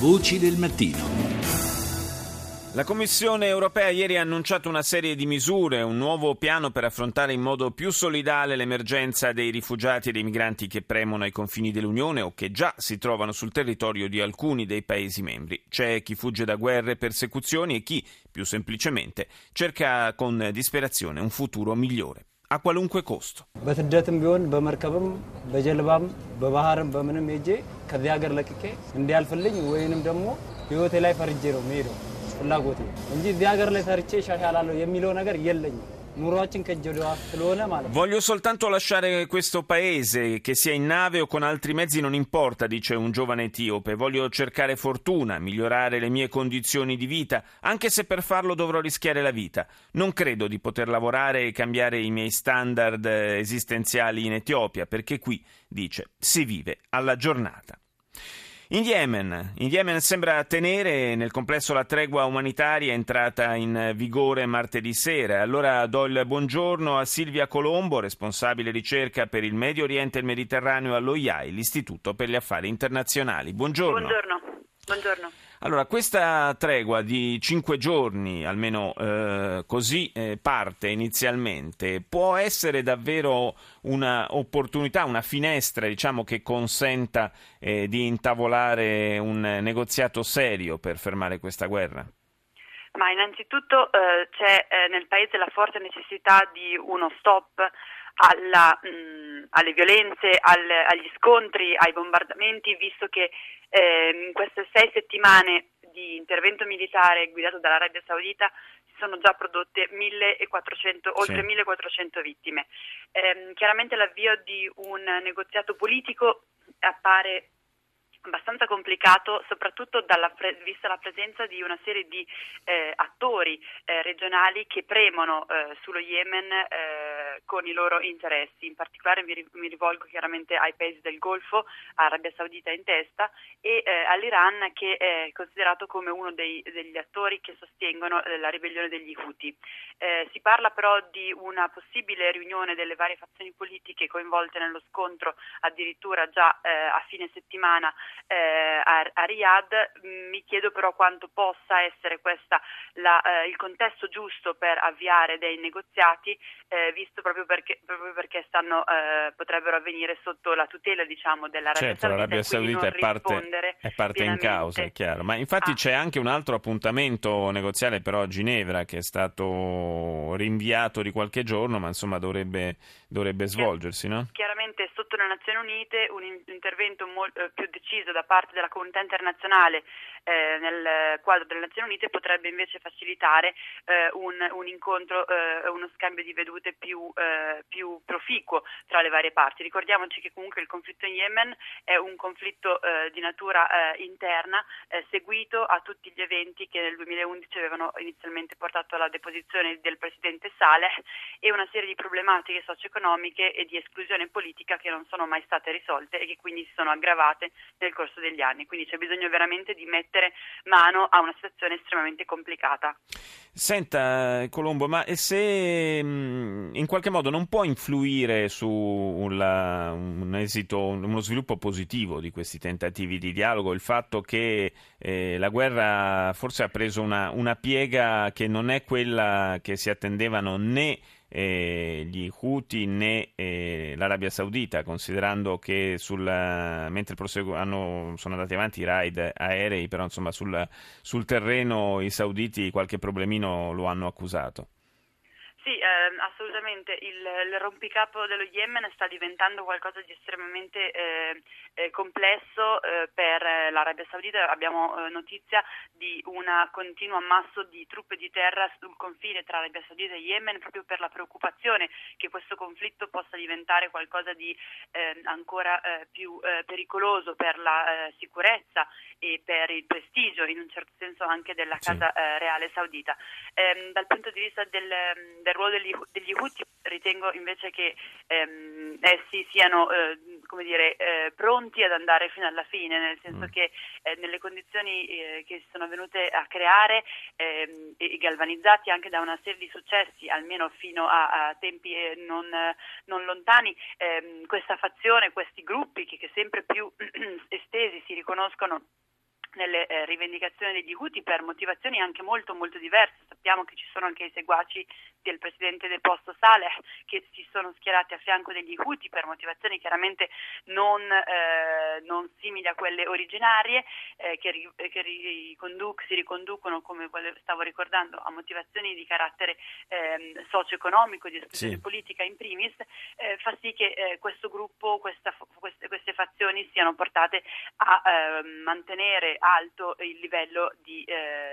Voci del mattino. La Commissione europea ieri ha annunciato una serie di misure, un nuovo piano per affrontare in modo più solidale l'emergenza dei rifugiati e dei migranti che premono ai confini dell'Unione o che già si trovano sul territorio di alcuni dei Paesi membri. C'è chi fugge da guerre e persecuzioni e chi, più semplicemente, cerca con disperazione un futuro migliore, a qualunque costo. በስደትም ቢሆን በመርከብም በጀልባም በባህርም በምንም ሄጄ ከዚህ ሀገር ለቅቄ እንዲያልፍልኝ ወይንም ደግሞ ህይወቴ ላይ ፈርጄ ነው የምሄደው ፍላጎቴ እንጂ እዚህ ሀገር ላይ ሰርቼ እሻሻላለሁ የሚለው ነገር የለኝም። ኑሯችን ከእጅ ወደ አፍ ስለሆነ ማለት ነው። Voglio soltanto lasciare questo paese, che sia in nave o con altri mezzi non importa, dice un giovane etiope. Voglio cercare fortuna, migliorare le mie condizioni di vita, anche se per farlo dovrò rischiare la vita. Non credo di poter lavorare e cambiare i miei standard esistenziali in Etiopia, perché qui, dice, si vive alla giornata. In Yemen sembra tenere nel complesso la tregua umanitaria entrata in vigore martedì sera. Allora do il buongiorno a Silvia Colombo, responsabile ricerca per il Medio Oriente e il Mediterraneo all'OIAI, l'Istituto per gli Affari Internazionali. Buongiorno. Buongiorno. Allora, questa tregua di 5 giorni, almeno così parte inizialmente, può essere davvero un'opportunità, una finestra, diciamo, che consenta di intavolare un negoziato serio per fermare questa guerra? Ma innanzitutto c'è nel paese la forte necessità di uno stop alle violenze, agli scontri, ai bombardamenti, visto che in queste 6 settimane di intervento militare guidato dall'Arabia Saudita si sono già prodotte oltre 1400 vittime. Chiaramente l'avvio di un negoziato politico appare abbastanza complicato, soprattutto vista la presenza di una serie di attori regionali che premono sullo Yemen con i loro interessi. In particolare mi rivolgo chiaramente ai paesi del Golfo, Arabia Saudita in testa, e all'Iran, che è considerato come uno degli attori che sostengono la ribellione degli Houthi. Si parla però di una possibile riunione delle varie fazioni politiche coinvolte nello scontro addirittura già a fine settimana a Riyadh. Mi chiedo però quanto possa essere questa il contesto giusto per avviare dei negoziati, visto proprio perché potrebbero avvenire sotto la tutela, diciamo, dell'Arabia Saudita. L'Arabia Saudita è parte in causa, è chiaro. Ma infatti c'è anche un altro appuntamento negoziale però a Ginevra che è stato rinviato di qualche giorno, ma insomma dovrebbe svolgersi, no? Chiaramente sotto le Nazioni Unite un intervento più deciso da parte della comunità internazionale nel quadro delle Nazioni Unite potrebbe invece facilitare un incontro, uno scambio di vedute più proficuo tra le varie parti. Ricordiamoci che comunque il conflitto in Yemen è un conflitto di natura interna, seguito a tutti gli eventi che nel 2011 avevano inizialmente portato alla deposizione del presidente Saleh e una serie di problematiche socio-economiche e di esclusione politica che non sono mai state risolte e che quindi si sono aggravate nel corso degli anni. Quindi c'è bisogno veramente di mettere mano a una situazione estremamente complicata. Senta, Colombo, ma se in qualche modo non può influire su un esito, uno sviluppo positivo di questi tentativi di dialogo, il fatto che la guerra forse ha preso una piega che non è quella che si attendevano né gli Houthi né l'Arabia Saudita, considerando che mentre sono andati avanti i raid aerei, però insomma sul terreno i sauditi qualche problemino lo hanno accusato. Sì, assolutamente. Il rompicapo dello Yemen sta diventando qualcosa di estremamente complesso per l'Arabia Saudita. Abbiamo notizia di un continuo ammasso di truppe di terra sul confine tra Arabia Saudita e Yemen, proprio per la preoccupazione che questo conflitto possa diventare qualcosa di ancora più pericoloso per la sicurezza e per il prestigio, in un certo senso, anche della Casa Reale Saudita. Dal punto di vista del ruolo degli Houthi, ritengo invece che essi siano pronti ad andare fino alla fine, nel senso che nelle condizioni che si sono venute a creare e galvanizzati anche da una serie di successi, almeno fino a tempi non lontani, questa fazione, questi gruppi che sempre più estesi si riconoscono nelle rivendicazioni degli Houthi per motivazioni anche molto molto diverse. Sappiamo che ci sono anche i seguaci del presidente del posto Saleh che si sono schierati a fianco degli Houthi per motivazioni chiaramente non simili a quelle originarie, si riconducono, come stavo ricordando, a motivazioni di carattere socio-economico, di esclusione politica in primis, fa sì che questo gruppo, queste fazioni siano portate a mantenere alto il livello di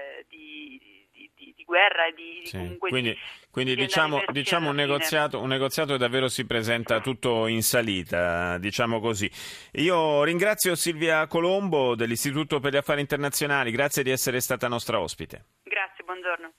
guerra e quindi diciamo un negoziato che davvero si presenta tutto in salita, diciamo così. Io ringrazio Silvia Colombo dell'Istituto per gli Affari Internazionali, grazie di essere stata nostra ospite. Grazie, buongiorno.